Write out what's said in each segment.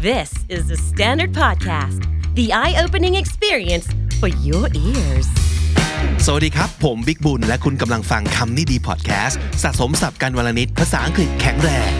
This is the Standard Podcast, the eye-opening experience for your ears. สวัสดีครับผมบิ๊กบุญและคุณกำลังฟังคำนี้ดีพอดแคสต์สะสมศัพท์กันวลนิดภาษาอังกฤษแข็งแรง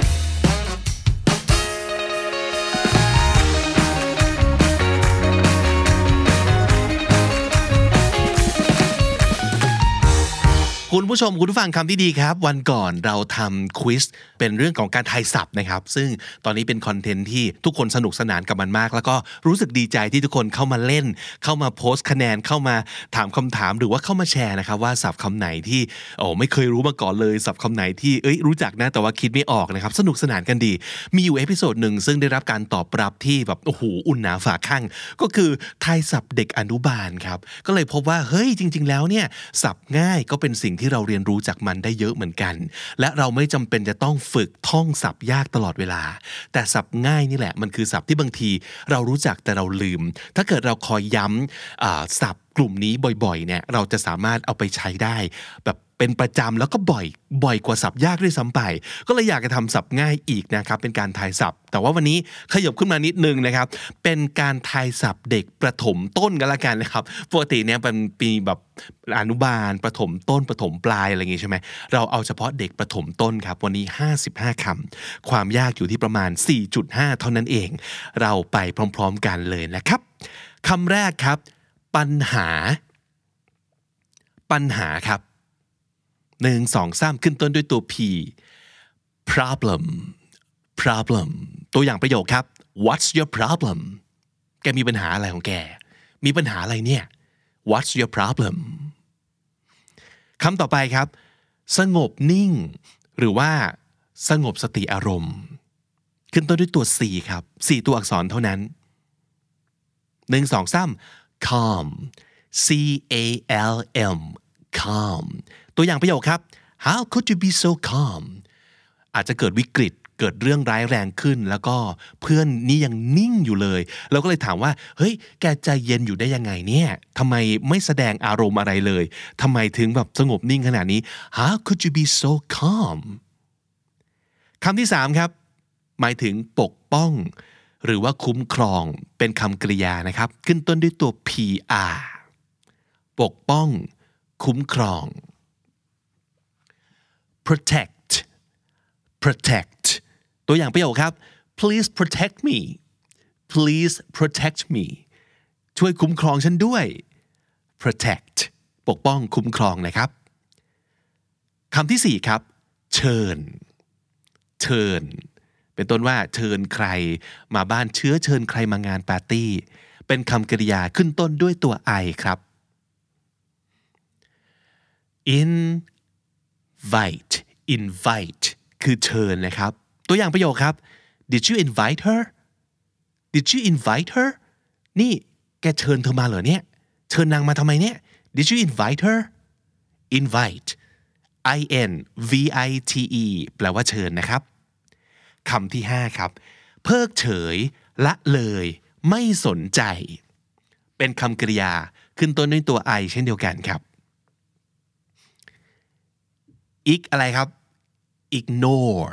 คุณผู้ชมคุณผู้ฟังคำที่ดีครับวันก่อนเราทำควิซเป็นเรื่องของการทายศัพท์นะครับซึ่งตอนนี้เป็นคอนเทนต์ที่ทุกคนสนุกสนานกับมันมากแล้วก็รู้สึกดีใจที่ทุกคนเข้ามาเล่นเข้ามาโพสต์คะแนนเข้ามาถามคำถามหรือว่าเข้ามาแชร์นะครับว่าศัพท์คำไหนที่ไม่เคยรู้มาก่อนเลยศัพท์คำไหนที่รู้จักนะแต่ว่าคิดไม่ออกนะครับสนุกสนานกันดีมีอยู่เอพิโซดหนึ่งซึ่งได้รับการตอบรับที่แบบโอ้โหอุ่นหนาฝาข้างก็คือทายศัพท์เด็กอนุบาลครับก็เลยพบว่าเฮ้ยจริงๆแล้วเนี่ยศัพท์ง่ายก็เป็นสิ่งที่เราเรียนรู้จากมันได้เยอะเหมือนกันและเราไม่จำเป็นจะต้องฝึกท่องศัพท์ยากตลอดเวลาแต่ศัพท์ง่ายนี่แหละมันคือศัพท์ที่บางทีเรารู้จักแต่เราลืมถ้าเกิดเราคอยย้ำศัพท์กลุ่มนี้บ่อยๆเนี่ยเราจะสามารถเอาไปใช้ได้แบบเป็นประจำแล้วก็บ่อยกว่าศัพท์ยากด้วยซ้ำไปก็เลยอยากจะทำศัพท์ง่ายอีกนะครับเป็นการทายศัพท์แต่ว่าวันนี้ขยับขึ้นมานิดนึงนะครับเป็นการทายศัพท์เด็กประถมต้นกันละกันนะครับปกติเนี่ยเป็นปีแบบอนุบาลประถมต้นประถมปลายอะไรอย่างงี้ใช่ไหมเราเอาเฉพาะเด็กประถมต้นครับวันนี้55คำความยากอยู่ที่ประมาณ 4.5 เท่านั้นเองเราไปพร้อมๆกันเลยนะครับคำแรกครับปัญหาครับ1 2 3ขึ้นต้นด้วยตัว P problem ตัวอย่างประโยคครับ What's your problem แกมีปัญหาอะไรของแกมีปัญหาอะไรเนี่ย What's your problem คำต่อไปครับสงบนิ่งหรือว่าสงบสติอารมณ์ขึ้นต้นด้วยตัว C ครับ4ตัวอักษรเท่านั้น1 2 3 calm C-A-L-M calm ตัวอย่างประโยคครับ How could you be so calm อาจจะเกิดวิกฤตเกิดเรื่องร้ายแรงขึ้นแล้วก็เพื่อนนี่ยังนิ่งอยู่เลยเราก็เลยถามว่าเฮ้ยแกใจเย็นอยู่ได้ยังไงเนี่ยทำไมไม่แสดงอารมณ์อะไรเลยทำไมถึงแบบสงบนิ่งขนาดนี้ How could you be so calm คำที่3ครับหมายถึงปกป้องหรือว่าคุ้มครองเป็นคำกริยานะครับขึ้นต้นด้วยตัว PR ปกป้องคุ้มครอง protect ตัวอย่างประโยคครับ please protect me ช่วยคุ้มครองฉันด้วย protect ปกป้องคุ้มครองนะครับคำที่4ครับเชิญเป็นต้นว่าเชิญใครมาบ้านเชิญใครมางานปาร์ตี้เป็นคำกริยาขึ้นต้นด้วยตัว I ครับinvite คือเชิญนะครับตัวอย่างประโยคครับ Did you invite her นี่แกเชิญเธอมาเหรอเนี่ยเชิญนางมาทำไมเนี่ย Did you invite her invite I-N-V-I-T-E แปลว่าเชิญนะครับคำที่5ครับเพิกเฉยละเลยไม่สนใจเป็นคำกริยาขึ้นต้นด้วยตัว I เช่นเดียวกันครับอะไรครับ ignore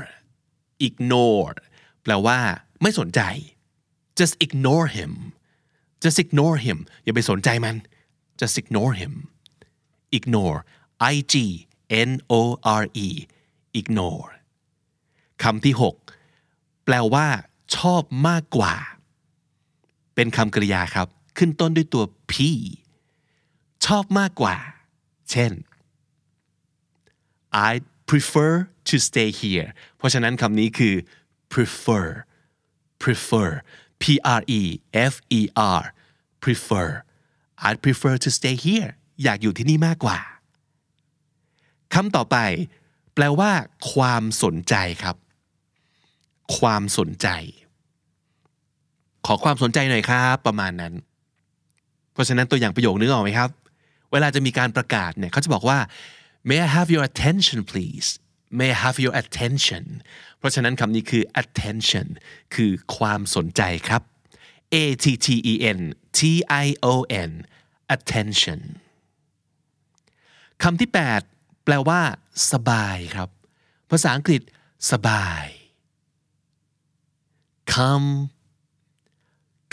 แปลว่าไม่สนใจ just ignore him อย่าไปสนใจมัน just ignore him ignore I-G-N-O-R-E ignore คำที่6แปลว่าชอบมากกว่าเป็นคำกริยาครับขึ้นต้นด้วยตัว P ชอบมากกว่าเช่นI prefer to stay here เพราะฉะนั้นคำนี้คือ prefer P-R-E-F-E-R prefer I prefer to stay here อยากอยู่ที่นี่มากกว่าคำต่อไปแปลว่าความสนใจครับความสนใจขอความสนใจหน่อยครับประมาณนั้นเพราะฉะนั้นตัวอย่างประโยคนึกออกไหมครับเวลาจะมีการประกาศเนี่ยเขาจะบอกว่าMay I have your attention please May I have your attention เพราะฉะนั้นคำนี้คือ attention คือความสนใจครับ A-T-T-E-N-T-I-O-N attention คำที่8แปลว่าสบายครับภาษาอังกฤษสบาย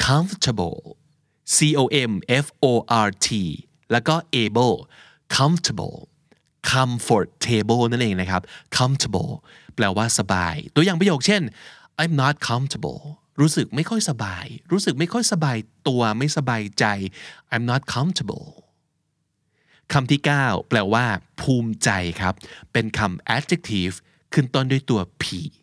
comfortable C-O-M-F-O-R-T แล้วก็ able comfortable comfortable นั่นเองนะครับ comfortable แปลว่าสบายตัวอย่างประโยคเช่น I'm not comfortable รู้สึกไม่ค่อยสบายรู้สึกไม่ค่อยสบายตัวไม่สบายใจ I'm not comfortable คำที่9แปลว่าภูมิใจครับเป็นคำ adjective ขึ้นต้นด้วยตัว P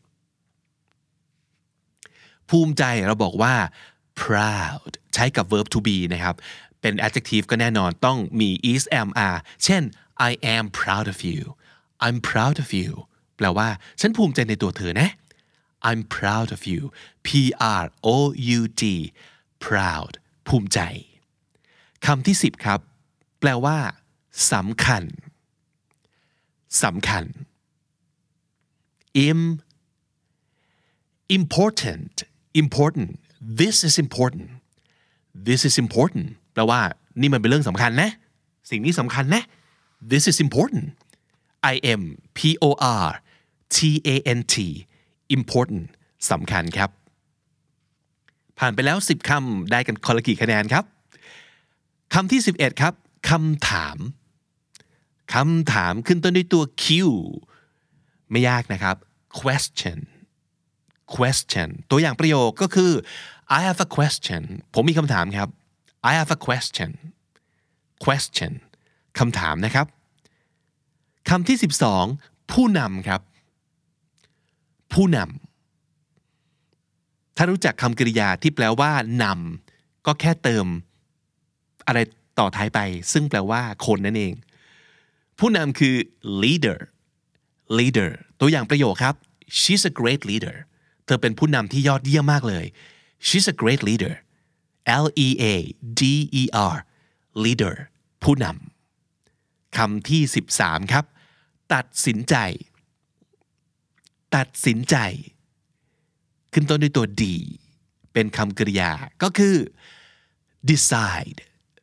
ภูมิใจเราบอกว่า proud ใช้กับ verb to be นะครับเป็น adjective ก็แน่นอนต้องมี is am are เช่น I am proud of you I'm proud of you แปลว่าฉันภูมิใจในตัวเธอนะ I'm proud of you P-R-O-U-D proud ภูมิใจคำที่10ครับแปลว่าสำคัญสำคัญ important this is important this is important แปลว่านี่มันเป็นเรื่องสำคัญนะสิ่งนี้สำคัญนะ this is important important important สำคัญครับผ่านไปแล้ว10คำได้กันคนละกี่คะแนนครับคำที่11ครับคำถามขึ้นต้นด้วยตัว Q ไม่ยากนะครับ question ตัวอย่างประโยคก็คือ I have a question ผมมีคำถามครับ I have a question คำถามนะครับคำที่12ผู้นำครับผู้นำถ้ารู้จักคำกริยาที่แปลว่านำก็แค่เติมอะไรต่อท้ายไปซึ่งแปลว่าคนนั่นเองผู้นำคือ leader ตัวอย่างประโยคครับ she's a great leader เธอเป็นผู้นำที่ยอดเยี่ยมมากเลย she's a great leader L-E-A-D-E-R leader ผู้นำคำที่13ครับตัดสินใจขึ้นต้นด้วยตัว D เป็นคำกริยาก็คือ decide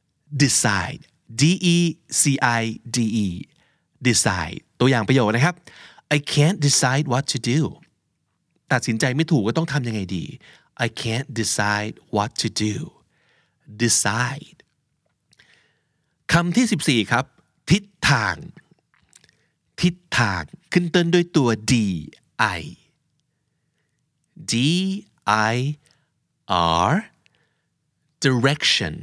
D-E-C-I-D-E decide ตัวอย่างประโยคนะครับ I can't decide what to do ตัดสินใจไม่ถูกว่าต้องทำยังไงดี I can't decide what to do decide คำที่14ครับทิศทางขึ้นต้นด้วยตัว D-I D-I-R direction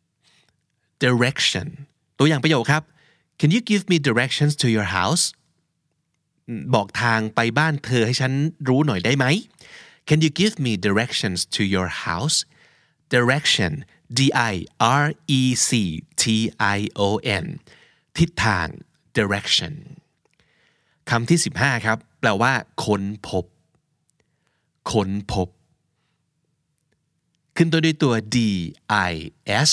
ตัวอย่างประโยคครับ Can you give me directions to your house บอกทางไปบ้านเธอให้ฉันรู้หน่อยได้ไหม Can you give me directions to your house direction D-I-R-E-C-T-I-O-N ทิศทาง direction คำที่15ครับแปลว่าค้นพบขึ้นต้นด้วยตัว D-I-S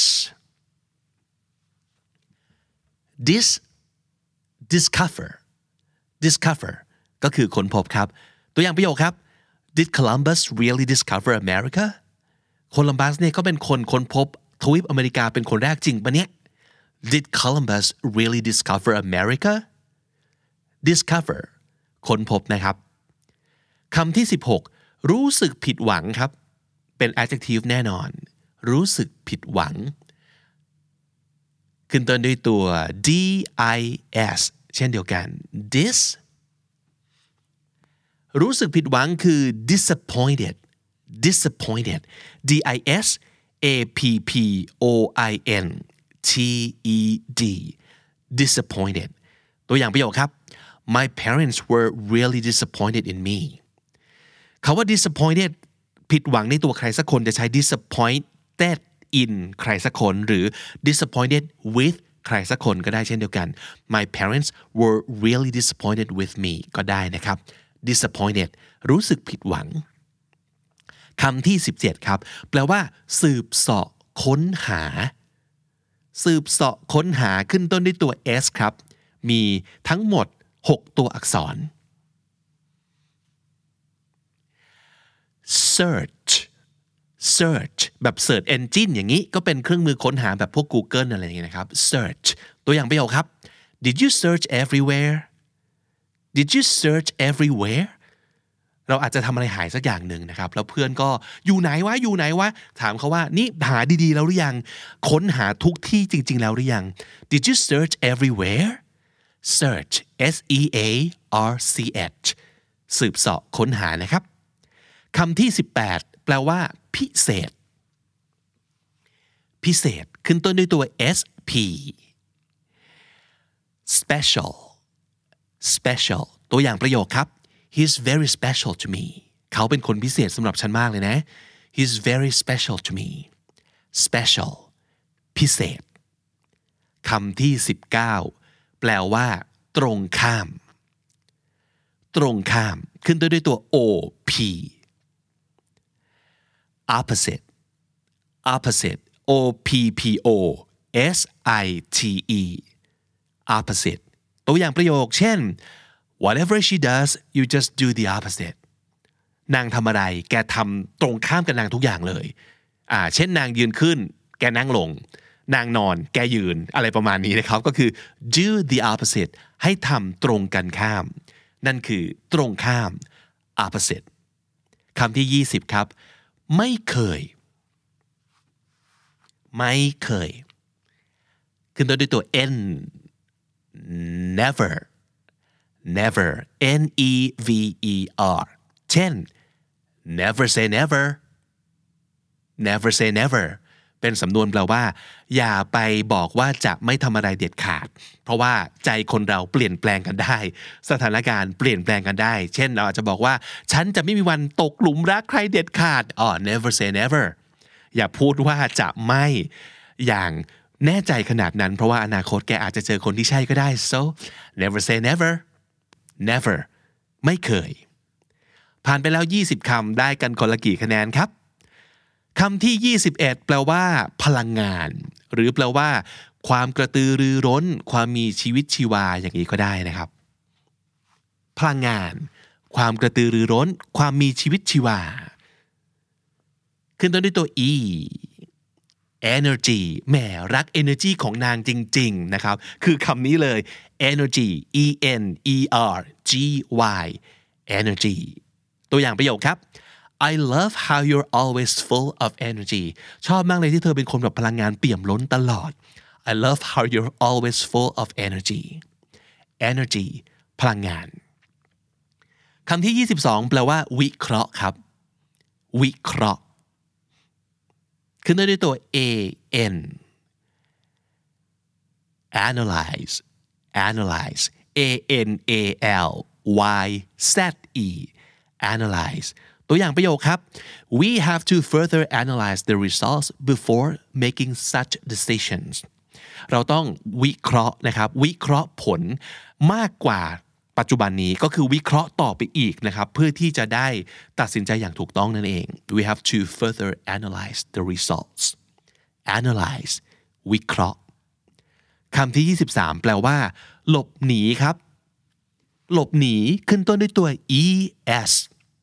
discover ก็คือค้นพบครับตัวอย่างประโยคครับ Did Columbus really discover America โคลัมบัสเนี่ยก็เป็นคนค้นพบทวีปอเมริกาเป็นคนแรกจริงปะเนี่ย Did Columbus really discover America discover ค้นพบนะครับคำที่16รู้สึกผิดหวังครับเป็น adjective แน่นอนรู้สึกผิดหวังขึ้นต้นด้วยตัว dis เช่นเดียวกัน รู้สึกผิดหวังคือ disappointed D-I-S-A-P-P-O-I-N-T-E-D disappointed ตัวอย่างประโยคครับ My parents were really disappointed in me คำว่า disappointed ผิดหวังในตัวใครสักคนจะใช้ disappointed in ใครสักคนหรือ disappointed with ใครสักคนก็ได้เช่นเดียวกัน My parents were really disappointed with me ก็ได้นะครับ disappointed รู้สึกผิดหวังคำที่17ครับแปลว่าสืบเสาะค้นหาขึ้นต้นด้วยตัว S ครับมีทั้งหมด6ตัวอักษร search แบบ search engine อย่างนี้ก็เป็นเครื่องมือค้นหาแบบพวก Google อะไรอย่างเงี้ยนะครับ search ตัวอย่างประโยคครับ Did you search everywhere เราอาจจะทำอะไรหายสักอย่างหนึ่งนะครับแล้วเพื่อนก็อยู่ไหนวะถามเขาว่านี่หาดีๆแล้วหรือยังค้นหาทุกที่จริงๆแล้วหรือยัง Did you search everywhere search SEARCH สืบเสาะค้นหานะครับคำที่18แปลว่าพิเศษพิเศษขึ้นต้นด้วยตัว SP special ตัวอย่างประโยคครับ He's very special to me เขาเป็นคนพิเศษสำหรับฉันมากเลยนะ He's very special to me special พิเศษคำที่19แปลว่าตรงข้ามตรงข้ามขึ้นต้นด้วยตัว OP opposite OPPOSITE opposite ตัวอย่างประโยคเช่น whatever she does you just do the opposite นางทำอะไรแกทำตรงข้ามกับนางทุกอย่างเลยเช่นนางยืนขึ้นแกนั่งลงนางนอนแกยืนอะไรประมาณนี้นะครับก็คือ do the opposite ให้ทำตรงกันข้ามนั่นคือตรงข้าม opposite คำที่20ครับไม่เคยขึ้นต้นด้วยตัว N never NEVER เช่น never say neverเป็นสำนวนแปลว่าอย่าไปบอกว่าจะไม่ทำอะไรเด็ดขาดเพราะว่าใจคนเราเปลี่ยนแปลงกันได้สถานการณ์เปลี่ยนแปลงกันได้เช่นเราอาจจะบอกว่าฉันจะไม่มีวันตกหลุมรักใครเด็ดขาดnever say never อย่าพูดว่าจะไม่อย่างแน่ใจขนาดนั้นเพราะว่าอนาคตแกอาจจะเจอคนที่ใช่ก็ได้ so never say neverไม่เคยผ่านไปแล้ว20คำได้กันคนละกี่คะแนนครับคำที่21แปลว่าพลังงานหรือแปลว่าความกระตือรือร้นความมีชีวิตชีวาอย่างนี้ก็ได้นะครับพลังงานความกระตือรือร้นความมีชีวิตชีวาขึ้นต้นด้วยตัว E energy แหมรัก energy ของนางจริงๆนะครับคือคำนี้เลย energy ENERGY energy ตัวอย่างประโยคครับ I love how you're always full of energy ชอบมากเลยที่เธอเป็นคนแบบพลังงานเปี่ยมล้นตลอด I love how you're always full of energy พลังงานคำที่22แปลว่าวิเคราะห์ครับวิเคราะห์ขึ้นด้วยตัว AN analyze ANALYZE analyze ตัวอย่างประโยคครับ we have to further analyze the results before making such decisions เราต้องวิเคราะห์นะครับวิเคราะห์ผลมากกว่าปัจจุบันนี้ก็คือวิเคราะห์ต่อไปอีกนะครับเพื่อที่จะได้ตัดสินใจอย่างถูกต้องนั่นเอง we have to further analyze the results analyze วิเคราะห์คำที่23แปลว่าหลบหนีครับหลบหนีขึ้นต้นด้วยตัว ES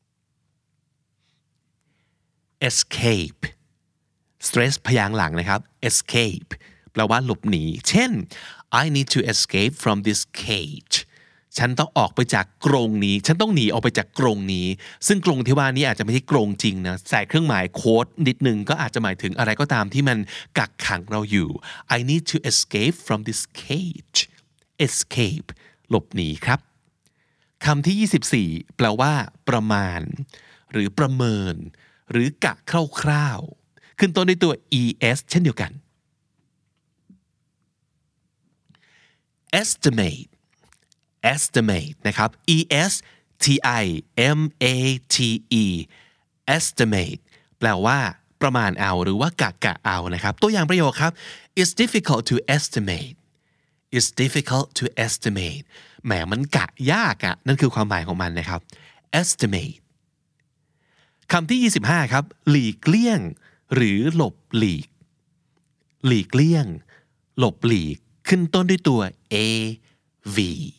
escape stress พยางค์หลังนะครับ escape แปลว่าหลบหนีเช่น I need to escape from this cage ฉันต้องออกไปจากกรงนี้ฉันต้องหนีออกไปจากกรงนี้ซึ่งกรงที่ว่านี้อาจจะไม่ใช่กรงจริงนะใส่เครื่องหมายโค้ดนิดนึงก็อาจจะหมายถึงอะไรก็ตามที่มันกักขังเราอยู่ I need to escape from this cage escape หลบหนีครับคำที่24แปลว่าประมาณหรือประเมินหรือกะคร่าวๆขึ้นต้นด้วยตัว ES เช่นเดียวกัน estimate นะครับ ESTIMATE estimate แปลว่าประมาณเอาหรือว่ากะเอานะครับตัวอย่างประโยคครับ It's difficult to estimate แหมมันกะยากอะนั่นคือความหมายของมันนะครับ estimate คำที่25ครับหลีกเลี่ยงหรือหลบหลีกหลีกเลี่ยงหลบหลีกขึ้นต้นด้วยตัว AV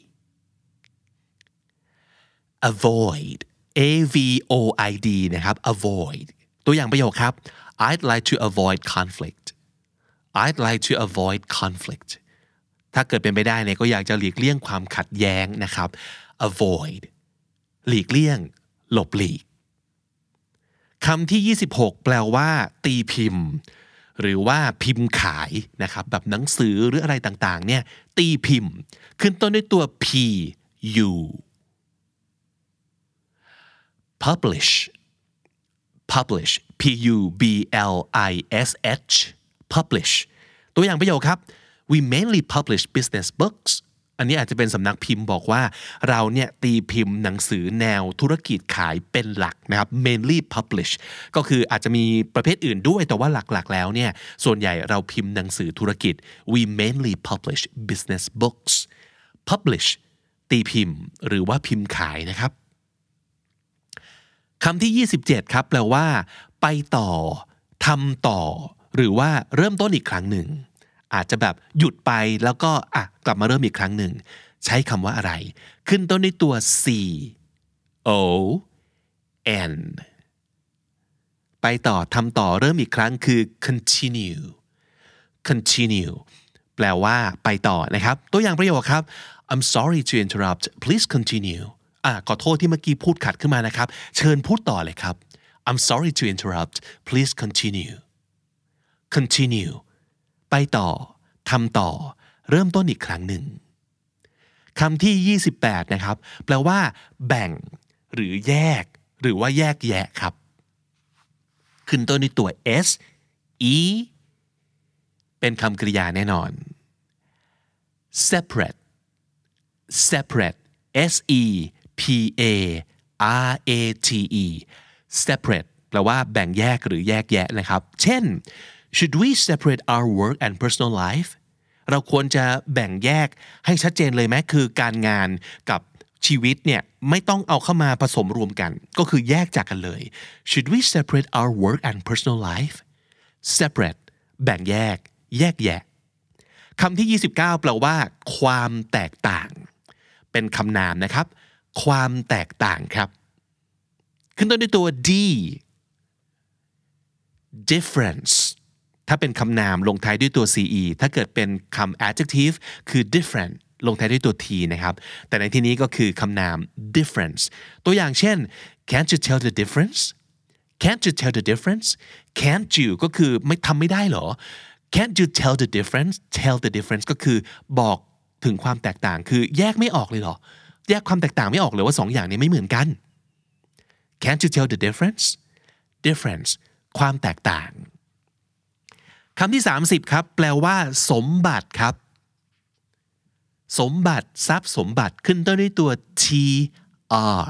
avoid AVOID นะครับ avoid ตัวอย่างประโยคครับ I'd like to avoid conflict ถ้าเกิดเป็นไปได้เนี่ยก็อยากจะหลีกเลี่ยงความขัดแย้งนะครับ avoid หลีกเลี่ยงหลบหลีกคำที่26แปลว่าตีพิมพ์หรือว่าพิมพ์ขายนะครับแบบหนังสือหรืออะไรต่างๆเนี่ยตีพิมพ์ขึ้นต้นด้วยตัว p u publish publish p u b l i s h publish ตัวอย่างประโยคครับ we mainly publish business books อันนี้อาจจะเป็นสำนักพิมพ์บอกว่าเราเนี่ยตีพิมพ์หนังสือแนวธุรกิจขายเป็นหลักนะครับ mainly publish ก็คืออาจจะมีประเภทอื่นด้วยแต่ว่าหลักๆแล้วเนี่ยส่วนใหญ่เราพิมพ์หนังสือธุรกิจ we mainly publish business books publish ตีพิมพ์หรือว่าพิมพ์ขายนะครับคำที่27ครับแปลว่าไปต่อทำต่อหรือว่าเริ่มต้นอีกครั้งหนึ่งอาจจะแบบหยุดไปแล้วก็กลับมาเริ่มอีกครั้งหนึ่งใช้คำว่าอะไรขึ้นต้นด้วยตัว c o n ไปต่อทำต่อเริ่มอีกครั้งคือ continue continue แปลว่าไปต่อนะครับตัวอย่างประโยคครับ I'm sorry to interrupt please continueขอโทษที่เมื่อกี้พูดขัดขึ้นมานะครับเชิญพูดต่อเลยครับ I'm sorry to interrupt please continue continue ไปต่อทำต่อเริ่มต้นอีกครั้งหนึ่งคำที่28นะครับแปลว่าแบ่งหรือแยกหรือว่าแยกแยะครับขึ้นต้นด้วยตัว s e เป็นคำกริยาแน่นอน separate separate s e p a r a t e separate แปลว่าแบ่งแยกหรือแยกแยะนะครับเช่น should we separate our work and personal life เราควรจะแบ่งแยกให้ชัดเจนเลยไหมคือการงานกับชีวิตเนี่ยไม่ต้องเอาเข้ามาผสมรวมกันก็คือแยกจากกันเลย should we separate our work and personal life separate แบ่งแยกแยกแยะคำที่29แปลว่าความแตกต่างเป็นคำนามนะครับความแตกต่างครับขึ้นต้นด้วยตัว d difference ถ้าเป็นคำนามลงท้ายด้วยตัว ce ถ้าเกิดเป็นคำ adjective คือ different ลงท้ายด้วยตัว t นะครับแต่ในที่นี้ก็คือคำนาม difference ตัวอย่างเช่น can't you tell the difference can't you tell the difference can't you ก็คือทำไม่ได้เหรอ can't you tell the difference tell the difference ก็คือบอกถึงความแตกต่างคือแยกไม่ออกเลยเหรอแยกความแตกต่างไม่ออกเลยว่า2 อย่างนี้ไม่เหมือนกัน Can't you tell the difference difference ความแตกต่างคำที่30ครับแปลว่าสมบัติครับสมบัติทรัพย์สมบัติขึ้นต้นด้วยตัว tr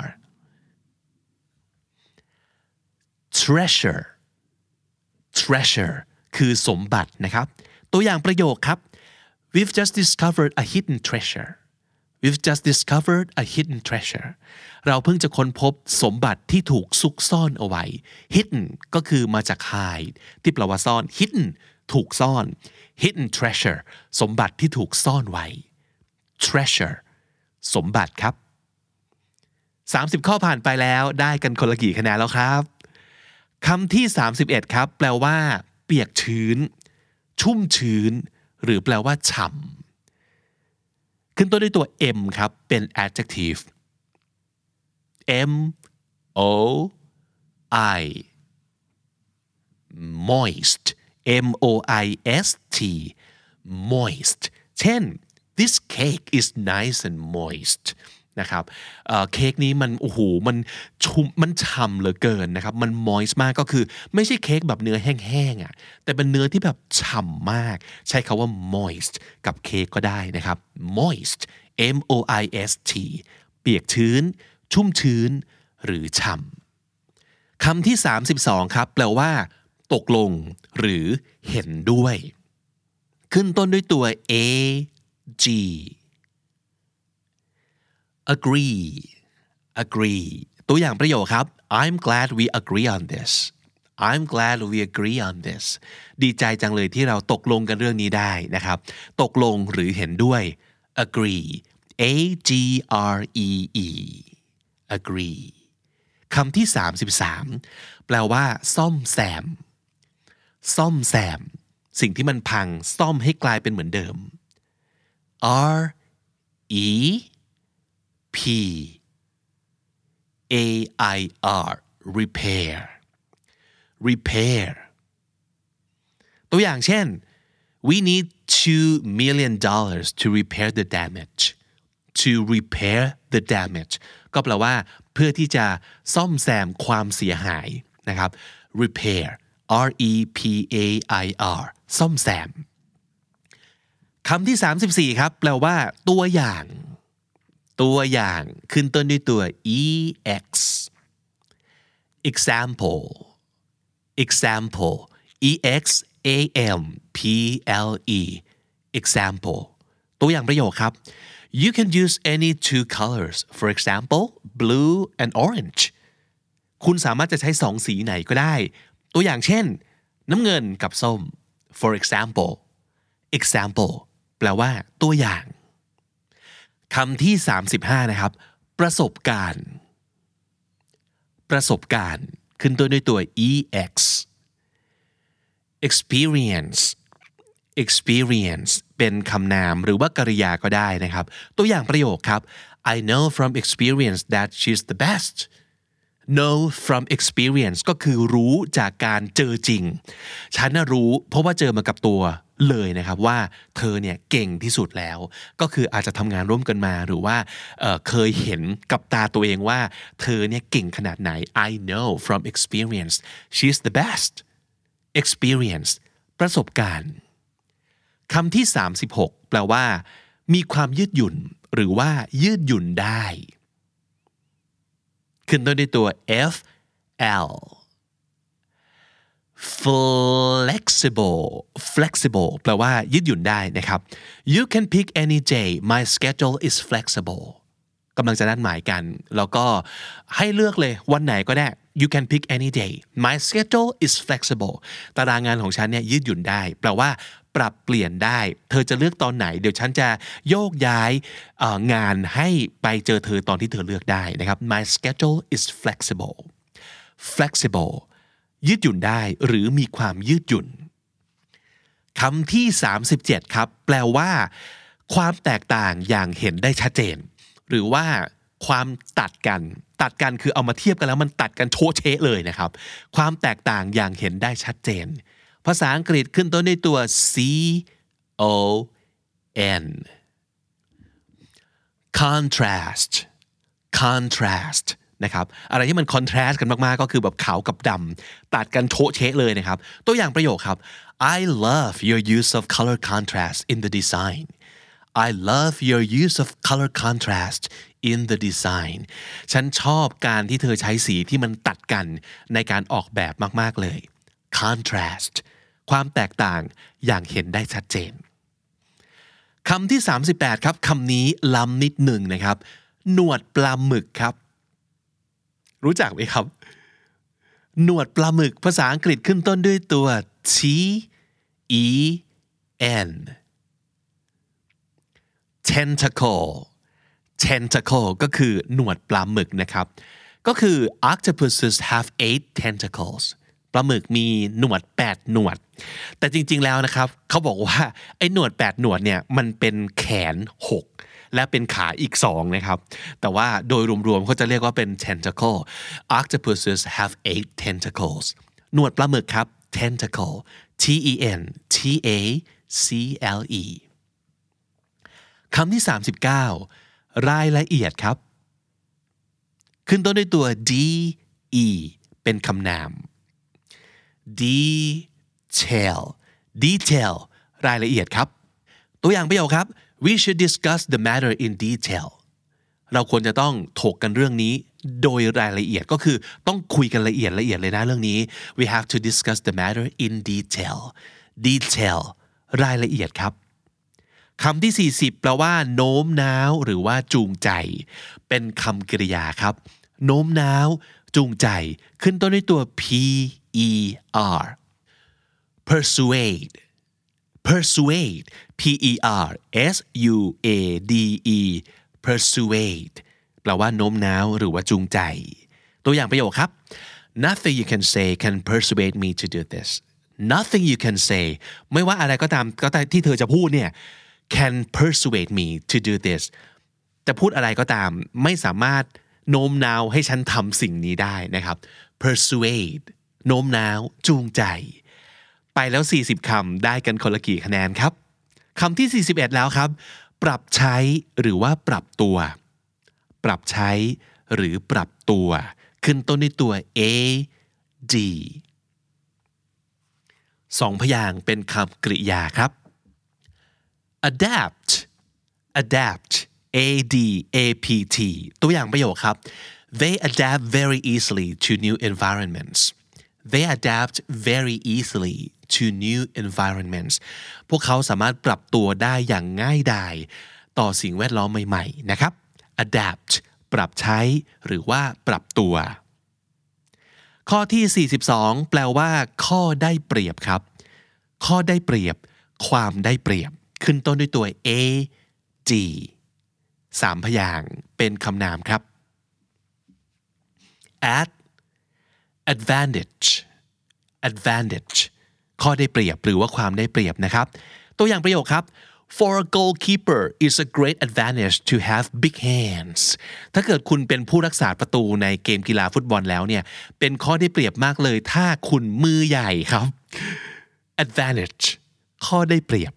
treasure treasure คือสมบัตินะครับตัวอย่างประโยคครับ We've just discovered a hidden treasure We've just discovered a hidden treasure เราเพิ่งจะค้นพบสมบัติที่ถูกซุกซ่อนเอาไว้ hidden ก็คือมาจาก hide ที่แปลว่าซ่อน hidden ถูกซ่อน hidden treasure สมบัติที่ถูกซ่อนไว้ treasure สมบัติครับ30ข้อผ่านไปแล้วได้กันคนละกี่คะแนนแล้วครับคำที่31ครับแปลว่าเปียกชื้นชุ่มชื้นหรือแปลว่าฉ่ำขึ้นต้นด้วยตัว m ครับเป็น adjective m o i moist m o i s t moist เช่น this cake is nice and moist นะครับเค้กนี้มันโอ้โหมันชุ่มมันฉ่ำเหลือเกินนะครับมัน moist มากก็คือไม่ใช่เค้กแบบเนื้อแห้งๆอ่ะแต่เป็นเนื้อที่แบบฉ่ำมากใช้คำว่า moist กับเค้กก็ได้นะครับ moist m o i s t เปียกชื้นชุ่มชื้นหรือฉ่ำคำที่32ครับแปลว่าตกลงหรือเห็นด้วยขึ้นต้นด้วยตัว a g agree agree ตัวอย่างประโยคครับ I'm glad we agree on this I'm glad we agree on this ดีใจจังเลยที่เราตกลงกันเรื่องนี้ได้นะครับตกลงหรือเห็นด้วย agree a g r e e agree คำที่33แปลว่าซ่อมแซมซ่อมแซมสิ่งที่มันพังซ่อมให้กลายเป็นเหมือนเดิม r e p repair repair ตัวอย่างเช่น we need $2 million to repair the damage to repair the damage ก็แปลว่าเพื่อที่จะซ่อมแซมความเสียหายนะครับ repair repair ซ่อมแซมคำที่34ครับแปลว่าตัวอย่างขึ้นต้นด้วยตัว ex example example example ตัวอย่างประโยคครับ you can use any two colors for example blue and orange คุณสามารถจะใช้สองสีไหนก็ได้ตัวอย่างเช่นน้ำเงินกับส้ม for exampleแปลว่าตัวอย่างคำที่35นะครับประสบการณ์ขึ้นต้นด้วยตัว ex experience เป็นคำนามหรือว่ากริยาก็ได้นะครับตัวอย่างประโยคครับ I know from experience that she's the best know from experience ก็คือรู้จากการเจอจริงฉันรู้เพราะว่าเจอมากับตัวเลยนะครับว่าเธอเนี่ยเก่งที่สุดแล้วก็คืออาจจะทำงานร่วมกันมาหรือว่าเคยเห็นกับตาตัวเองว่าเธอเนี่ยเก่งขนาดไหน I know from experience she's the best experience ประสบการณ์คำที่36แปลว่ามีความยืดหยุ่นหรือว่ายืดหยุ่นได้ขึ้นต้นด้วยตัว fl flexible แปลว่ายืดหยุ่นได้นะครับ you can pick any day my schedule is flexible กำลังจะนัดหมายกันแล้วก็ให้เลือกเลยวันไหนก็ได้ you can pick any day my schedule is flexible ตารางงานของฉันเนี่ยยืดหยุ่นได้แปลว่าปรับเปลี่ยนได้เธอจะเลือกตอนไหนเดี๋ยวฉันจะโยกย้ายงานให้ไปเจอเธอตอนที่เธอเลือกได้นะครับ my schedule is flexible ยืดหยุ่นได้หรือมีความยืดหยุ่นคำที่37ครับแปลว่าความแตกต่างอย่างเห็นได้ชัดเจนหรือว่าความตัดกันคือเอามาเทียบกันแล้วมันตัดกันโชะเชะเลยนะครับความแตกต่างอย่างเห็นได้ชัดเจนภาษาอังกฤษขึ้นต้นด้วยตัว con contrast นะครับอะไรที่มัน contrast กันมากๆก็คือแบบขาวกับดำตัดกันโชะเชะเลยนะครับตัวอย่างประโยคครับ I love your use of color contrast in the design I love your use of color contrast in the design ฉันชอบการที่เธอใช้สีที่มันตัดกันในการออกแบบมากๆเลย contrast ความแตกต่างอย่างเห็นได้ชัดเจนคำที่38ครับคำนี้ล้ำนิดหนึ่งนะครับหนวดปลาหมึกครับรู้จักไหมครับหนวดปลาหมึกภาษาอังกฤษขึ้นต้นด้วยตัว t e n tentacle ก็คือหนวดปลาหมึกนะครับก็คือ octopuses have 8 tentacles ปลาหมึกมีหนวด8หนวดแต่จริงๆแล้วนะครับเขาบอกว่าไอ้หนวด8หนวดเนี่ยมันเป็นแขน6และเป็นขาอีก2นะครับแต่ว่าโดยรวมๆเขาจะเรียกว่าเป็น tentacle octopuses have 8 tentacles หนวดปลาหมึกครับ tentacle t e n t a c l e คำที่39รายละเอียดครับขึ้นต้นด้วยตัว d e เป็นคำนาม detail รายละเอียดครับตัวอย่างประโยคครับ we should discuss the matter in detail เราควรจะต้องถกกันเรื่องนี้โดยรายละเอียดก็คือต้องคุยกันละเอียดเลยนะเรื่องนี้ we have to discuss the matter in detail รายละเอียดครับคำที่40แปลว่าโน้มน้าวหรือว่าจูงใจเป็นคำกริยาครับโน้มน้าวจูงใจขึ้นต้นด้วยตัว p e r persuade p e r s u a d e persuade แปลว่าโน้มน้าวหรือว่าจูงใจตัวอย่างประโยคครับ nothing you can say can persuade me to do this nothing you can say ไม่ว่าอะไรก็ตามที่เธอจะพูดเนี่ยcan persuade me to do this จะพูดอะไรก็ตามไม่สามารถโน้มน้าวให้ฉันทำสิ่งนี้ได้นะครับ persuade โน้มน้าวจูงใจไปแล้ว40คำได้กันคนละกี่คะแนนครับคำที่41แล้วครับปรับใช้หรือว่าปรับตัวปรับใช้หรือปรับตัวขึ้นต้นด้วยตัว a d สองพยางค์เป็นคำกริยาครับ adapt adapt a d a p t ตัวอย่างประโยคครับ they adapt very easily to new environments they adapt very easily to new environments พวกเขาสามารถปรับตัวได้อย่างง่ายดายต่อสิ่งแวดล้อมใหม่ๆนะครับ adapt ปรับใช้หรือว่าปรับตัวข้อที่42แปลว่าข้อได้เปรียบครับข้อได้เปรียบความได้เปรียบขึ้นต้นด้วยตัว a d 3พยางค์เป็นคำนามครับ at advantage advantage ข้อได้เปรียบหรือว่าความได้เปรียบนะครับตัวอย่างประโยคครับ For a goalkeeper it's a great advantage to have big hands ถ้าเกิดคุณเป็นผู้รักษาประตูในเกมกีฬาฟุตบอลแล้วเนี่ยเป็นข้อได้เปรียบมากเลยถ้าคุณมือใหญ่ครับ advantage ข้อได้เปรียบ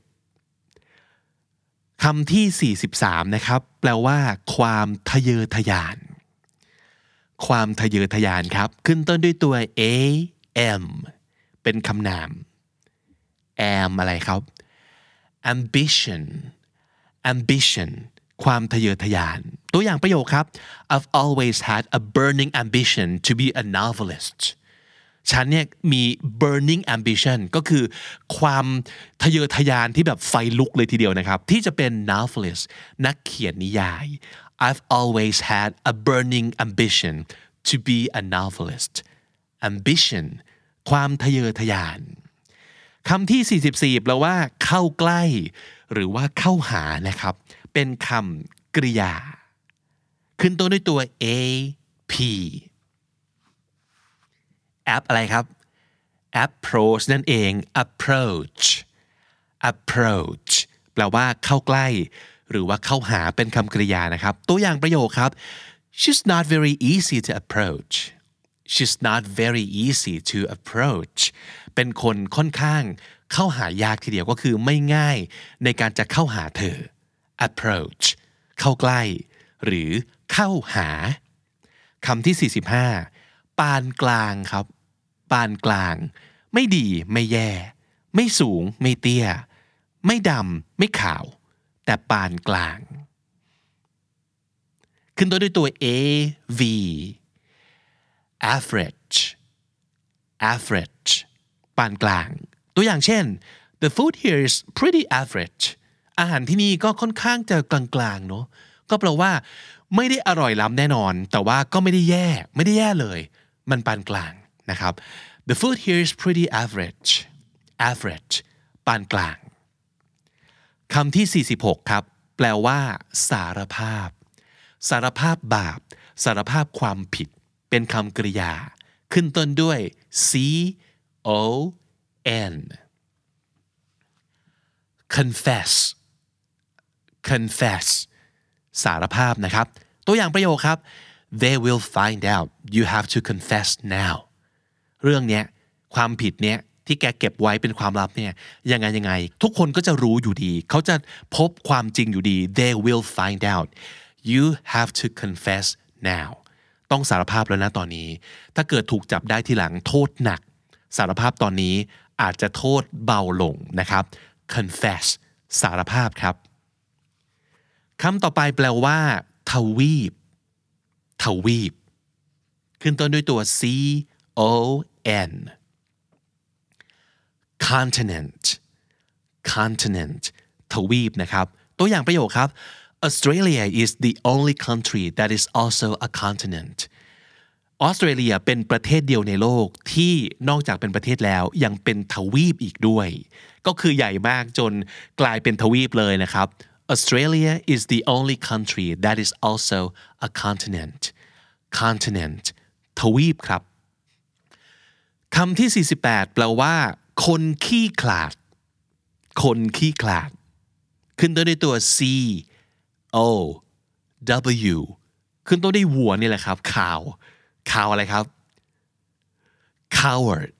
คำที่43นะครับแปลว่าความทะเยอทะยานความทะเยอทะยานครับขึ้นต้นด้วยตัว am เป็นคำนาม am อะไรครับ ambition ambition ความทะเยอทะยานตัวอย่างประโยคครับ I've always had a burning ambition to be a novelist ฉันเนี่ยมี burning ambition ก็คือความทะเยอทะยานที่แบบไฟลุกเลยทีเดียวนะครับที่จะเป็น novelist นักเขียนนิยาย I've always had a burning ambition to be a novelist ambition ความทะเยอทะยานคำที่44แปลว่าเข้าใกล้หรือว่าเข้าหานะครับเป็นคำกริยาขึ้นต้นด้วยตัว a p app อะไรครับ approach นั่นเอง approach approach แปลว่าเข้าใกล้หรือว่าเข้าหาเป็นคำกริยานะครับตัวอย่างประโยคครับ she's not very easy to approach she's not very easy to approach เป็นคนค่อนข้างเข้าหายากทีเดียวก็คือไม่ง่ายในการจะเข้าหาเธอ approach เข้าใกล้หรือเข้าหาคำที่45ปานกลางครับปานกลางไม่ดีไม่แย่ไม่สูงไม่เตี้ยไม่ดำไม่ขาวแต่ปานกลางขึ้นต้นด้วยตัว a v average average ปานกลางตัวอย่างเช่น the food here is pretty average อาหารที่นี่ก็ค่อนข้างจะกลางๆเนาะก็แปลว่าไม่ได้อร่อยล้ำแน่นอนแต่ว่าก็ไม่ได้แย่เลยมันปานกลางนะครับ the food here is pretty average average ปานกลางคำที่46ครับแปลว่าสารภาพสารภาพบาปสารภาพความผิดเป็นคำกริยาขึ้นต้นด้วย c o n confess confess สารภาพนะครับตัวอย่างประโยคครับ they will find out you have to confess now เรื่องเนี้ยความผิดเนี้ยที่แกเก็บไว้เป็นความลับเนี่ยยังไงทุกคนก็จะรู้อยู่ดีเขาจะพบความจริงอยู่ดี they will find out you have to confess now ต้องสารภาพแล้วนะตอนนี้ถ้าเกิดถูกจับได้ทีหลังโทษหนักสารภาพตอนนี้อาจจะโทษเบาลงนะครับ confess สารภาพครับคำต่อไปแปลว่าทวีปทวีปขึ้นต้นด้วยตัว c o n continent continent ทวีปนะครับตัวอย่างประโยคครับ Australia is the only country that is also a continent ออสเตรเลียเป็นประเทศเดียวในโลกที่นอกจากเป็นประเทศแล้วยังเป็นทวีปอีกด้วยก็คือใหญ่มากจนกลายเป็นทวีปเลยนะครับ Australia is the only country that is also a continent continent ทวีปครับคำที่48แปลว่าคนขี้ขลาดคนขี้ขลาดขึ้นต้นด้วยตัว c o w ขึ้นต้นด้วยวัวนี่แหละครับcowอะไรครับ coward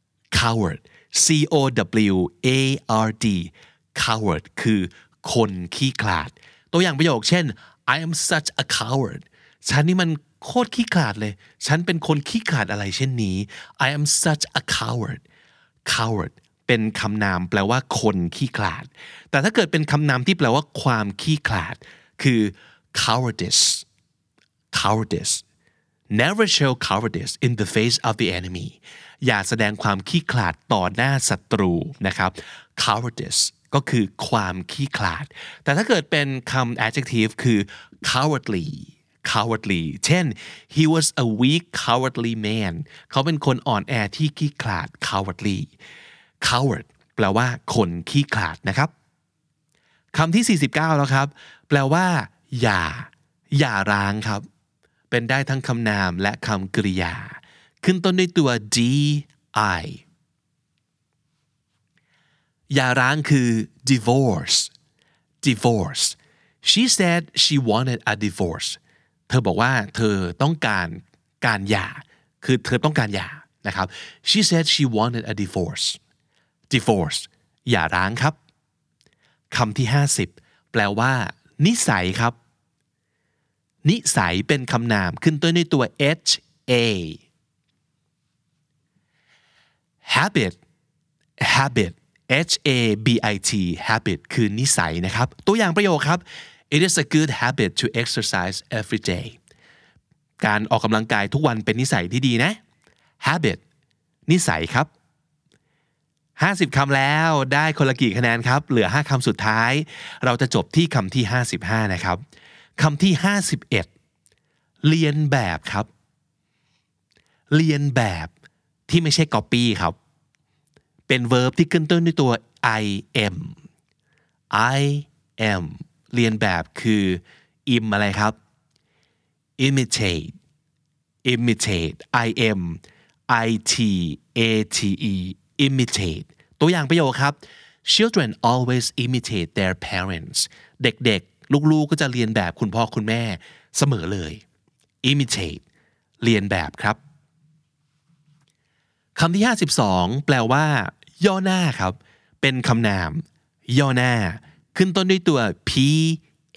coward coward คือคนขี้ขลาดตัวอย่างประโยคเช่น I am such a coward ฉันนี่มันโคตรขี้ขลาดเลยฉันเป็นคนขี้ขลาดอะไรเช่นนี้ I am such a coward เป็นคำนามแปลว่าคนขี้ขลาดแต่ถ้าเกิดเป็นคำนามที่แปลว่าความขี้ขลาดคือ cowardice Never show cowardice in the face of the enemy อย่าแสดงความขี้ขลาดต่อหน้าศัตรูนะครับ cowardice ก็คือความขี้ขลาดแต่ถ้าเกิดเป็นคำ adjective คือ cowardly เช่น he was a weak cowardly man เขาเป็นคนอ่อนแอที่ขี้ขลาด coward แปลว่าคนขี้ขลาดนะครับคำที่49แล้วครับแปลว่าอย่าร้างครับเป็นได้ทั้งคำนามและคำกริยาขึ้นต้นด้วยตัว di อย่าร้างคือ divorce she said she wanted a divorce เธอบอกว่าเธอต้องการหย่าคือเธอต้องการหย่านะครับ she said she wanted a divorce อย่าร้างครับคำที่50แปลว่านิสัยครับนิสัยเป็นคำนามขึ้นต้นด้วยตัว ha habit habit คือนิสัยนะครับตัวอย่างประโยคครับ it is a good habit to exercise every day การออกกำลังกายทุกวันเป็นนิสัยที่ดีนะ habit นิสัยครับ50คำแล้วได้คนละกี่คะแนนครับเหลือ5คำสุดท้ายเราจะจบที่คำที่55นะครับคำที่51เรียนแบบครับเรียนแบบที่ไม่ใช่ copy ครับเป็น verb ที่ขึ้นต้นด้วยตัว im เรียนแบบคือ im อะไรครับ imitate imitate ตัวอย่างประโยคครับ children always imitate their parents เด็กๆลูกๆก็จะเรียนแบบคุณพ่อคุณแม่เสมอเลย imitate เรียนแบบครับคำที่52แปลว่าย่อหน้าครับเป็นคำนามย่อหน้าขึ้นต้นด้วยตัว pa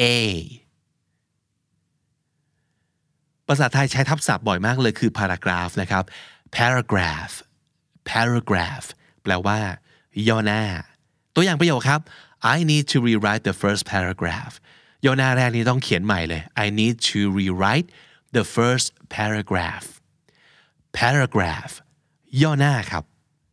ภาษาไทยใช้ทับศัพท์บ่อยมากเลยคือ paragraph นะครับ paragraph แปลว่าย่อหน้าตัวอย่างประโยคครับ I need to rewrite the first paragraph ย่อหน้าแรกนี้ต้องเขียนใหม่เลย I need to rewrite the first paragraph ย่อหน้าครับ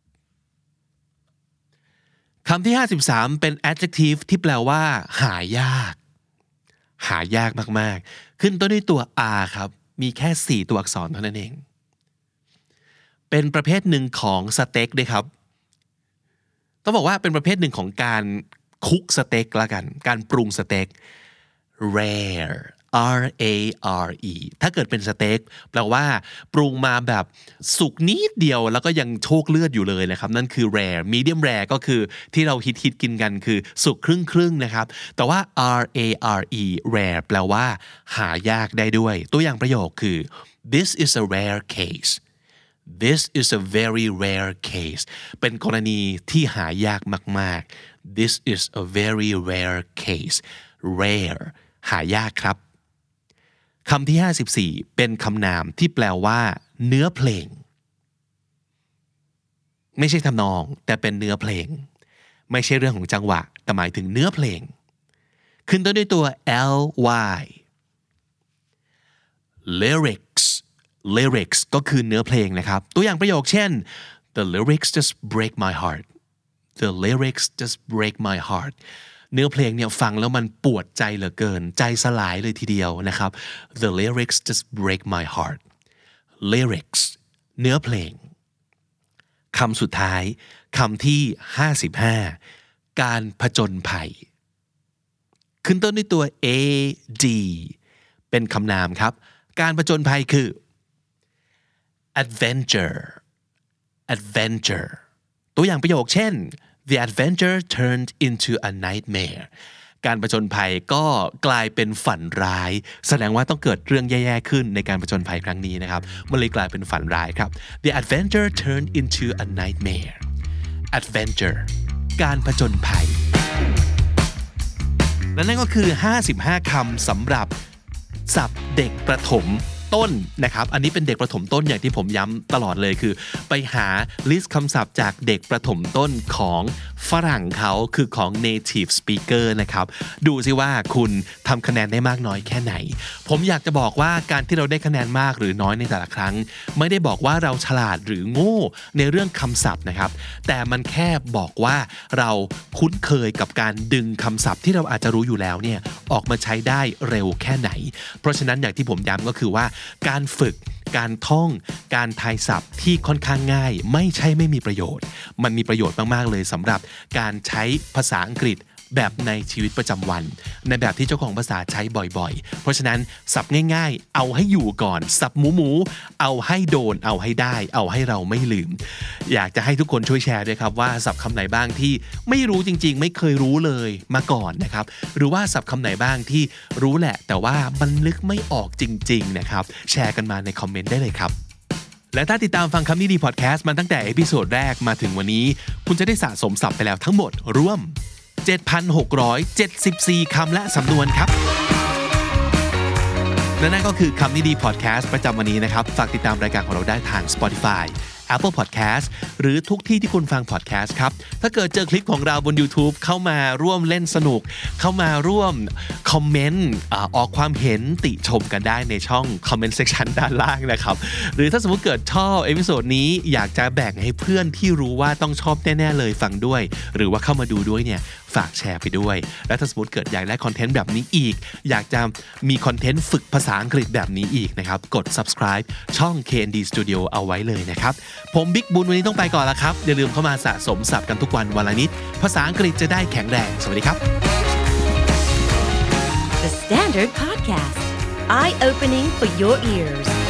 คำที่53เป็น adjective ที่แปลว่าหายากมากๆขึ้นต้นด้วยตัว r ครับมีแค่4ตัวอักษรเท่านั้นเองเป็นประเภทหนึ่งของสเต็กด้วยครับต้องบอกว่าเป็นประเภทหนึ่งของการคุกสเต็กละกันการปรุงสเต็ก rare rare ถ้าเกิดเป็นสเต็กแปลว่าปรุงมาแบบสุกนิดเดียวแล้วก็ยังโชกเลือดอยู่เลยนะครับนั่นคือ rare medium rare ก็คือที่เราฮิตกินกันคือสุกครึ่งนะครับแต่ว่า rare แปลว่าหายากได้ด้วยตัวอย่างประโยคคือ this is a rare case This is a very rare case เป็นกรณีที่หายากมากๆ This is a very rare case rare หายากครับคำที่54เป็นคำนามที่แปลว่าเนื้อเพลงไม่ใช่ทำนองแต่เป็นเนื้อเพลงไม่ใช่เรื่องของจังหวะแต่หมายถึงเนื้อเพลงขึ้นต้นด้วยตัว ly lyrics ก็คือเนื้อเพลงนะครับตัวอย่างประโยคเช่น the lyrics just break my heartเนื้อเพลงเนี่ยฟังแล้วมันปวดใจเหลือเกินใจสลายเลยทีเดียวนะครับ the lyrics just break my heart lyrics เนื้อเพลงคำสุดท้ายคำที่55การผจญภัยขึ้นต้นด้วยตัว ad เป็นคำนามครับการผจญภัยคือ adventure ตัวอย่างประโยคเช่นThe adventure turned into a nightmare การผจญภัยก็กลายเป็นฝันร้ายแสดงว่าต้องเกิดเรื่องแย่ๆขึ้นในการผจญภัยครั้งนี้นะครับมันเลยกลายเป็นฝันร้ายครับ The adventure turned into a nightmare adventure การผจญภัยและนั่นก็คือ55คำสำหรับศัพท์เด็กประถมต้นนะครับอันนี้เป็นเด็กประถมต้นอย่างที่ผมย้ำตลอดเลยคือไปหาลิสต์คำศัพท์จากเด็กประถมต้นของฝรั่งเขาคือของ native speaker นะครับดูซิว่าคุณทำคะแนนได้มากน้อยแค่ไหนผมอยากจะบอกว่าการที่เราได้คะแนนมากหรือน้อยในแต่ละครั้งไม่ได้บอกว่าเราฉลาดหรือโง่ในเรื่องคำศัพท์นะครับแต่มันแค่บอกว่าเราคุ้นเคยกับการดึงคำศัพท์ที่เราอาจจะรู้อยู่แล้วเนี่ยออกมาใช้ได้เร็วแค่ไหนเพราะฉะนั้นอย่างที่ผมย้ำก็คือว่าการฝึกการท่องการทายศัพท์ที่ค่อนข้างง่ายไม่ใช่ไม่มีประโยชน์มันมีประโยชน์มากๆเลยสำหรับการใช้ภาษาอังกฤษแบบในชีวิตประจำวันในแบบที่เจ้าของภาษาใช้บ่อยๆเพราะฉะนั้นศัพท์ง่ายๆเอาให้อยู่ก่อนศัพท์หมูเอาให้โดนเอาให้ได้เอาให้เราไม่ลืมอยากจะให้ทุกคนช่วยแชร์ด้วยครับว่าศัพท์คำไหนบ้างที่ไม่รู้จริงๆไม่เคยรู้เลยมาก่อนนะครับหรือว่าศัพท์คำไหนบ้างที่รู้แหละแต่ว่ามันนึกไม่ออกจริงๆนะครับแชร์กันมาในคอมเมนต์ได้เลยครับและถ้าติดตามฟังคำนี้ดีพอดแคสต์มาตั้งแต่เอพิโซดแรกมาถึงวันนี้คุณจะได้สะสมศัพท์ไปแล้วทั้งหมดรวม 7,674 คำและสำนวนครับและนั่นก็คือคำนี้ดีพอดแคสต์ประจำวันนี้นะครับฝากติดตามรายการของเราได้ทาง Spotify Apple Podcast หรือทุกที่ที่คุณฟัง podcast ครับถ้าเกิดเจอคลิปของเราบน YouTube เข้ามาร่วมเล่นสนุกเข้ามาร่วมคอมเมนต์ออกความเห็นติชมกันได้ในช่อง comment section ด้านล่างนะครับหรือถ้าสมมุติเกิดชอบเอพิโซดนี้อยากจะแบ่งให้เพื่อนที่รู้ว่าต้องชอบแน่ๆเลยฟังด้วยหรือว่าเข้ามาดูด้วยเนี่ยฝากแชร์ไปด้วยและถ้าสมมติเกิดอยากได้คอนเทนต์แบบนี้อีกอยากจะมีคอนเทนต์ฝึกภาษาอังกฤษแบบนี้อีกนะครับกด subscribe ช่อง KND Studio เอาไว้เลยนะครับผมบิ๊กบุญวันนี้ต้องไปก่อนแล้วครับอย่าลืมเข้ามาสะสมศัพท์กันทุกวันวันละนิดภาษาอังกฤษจะได้แข็งแรงสวัสดีครับ The Standard Podcast Eye Opening for Your Ears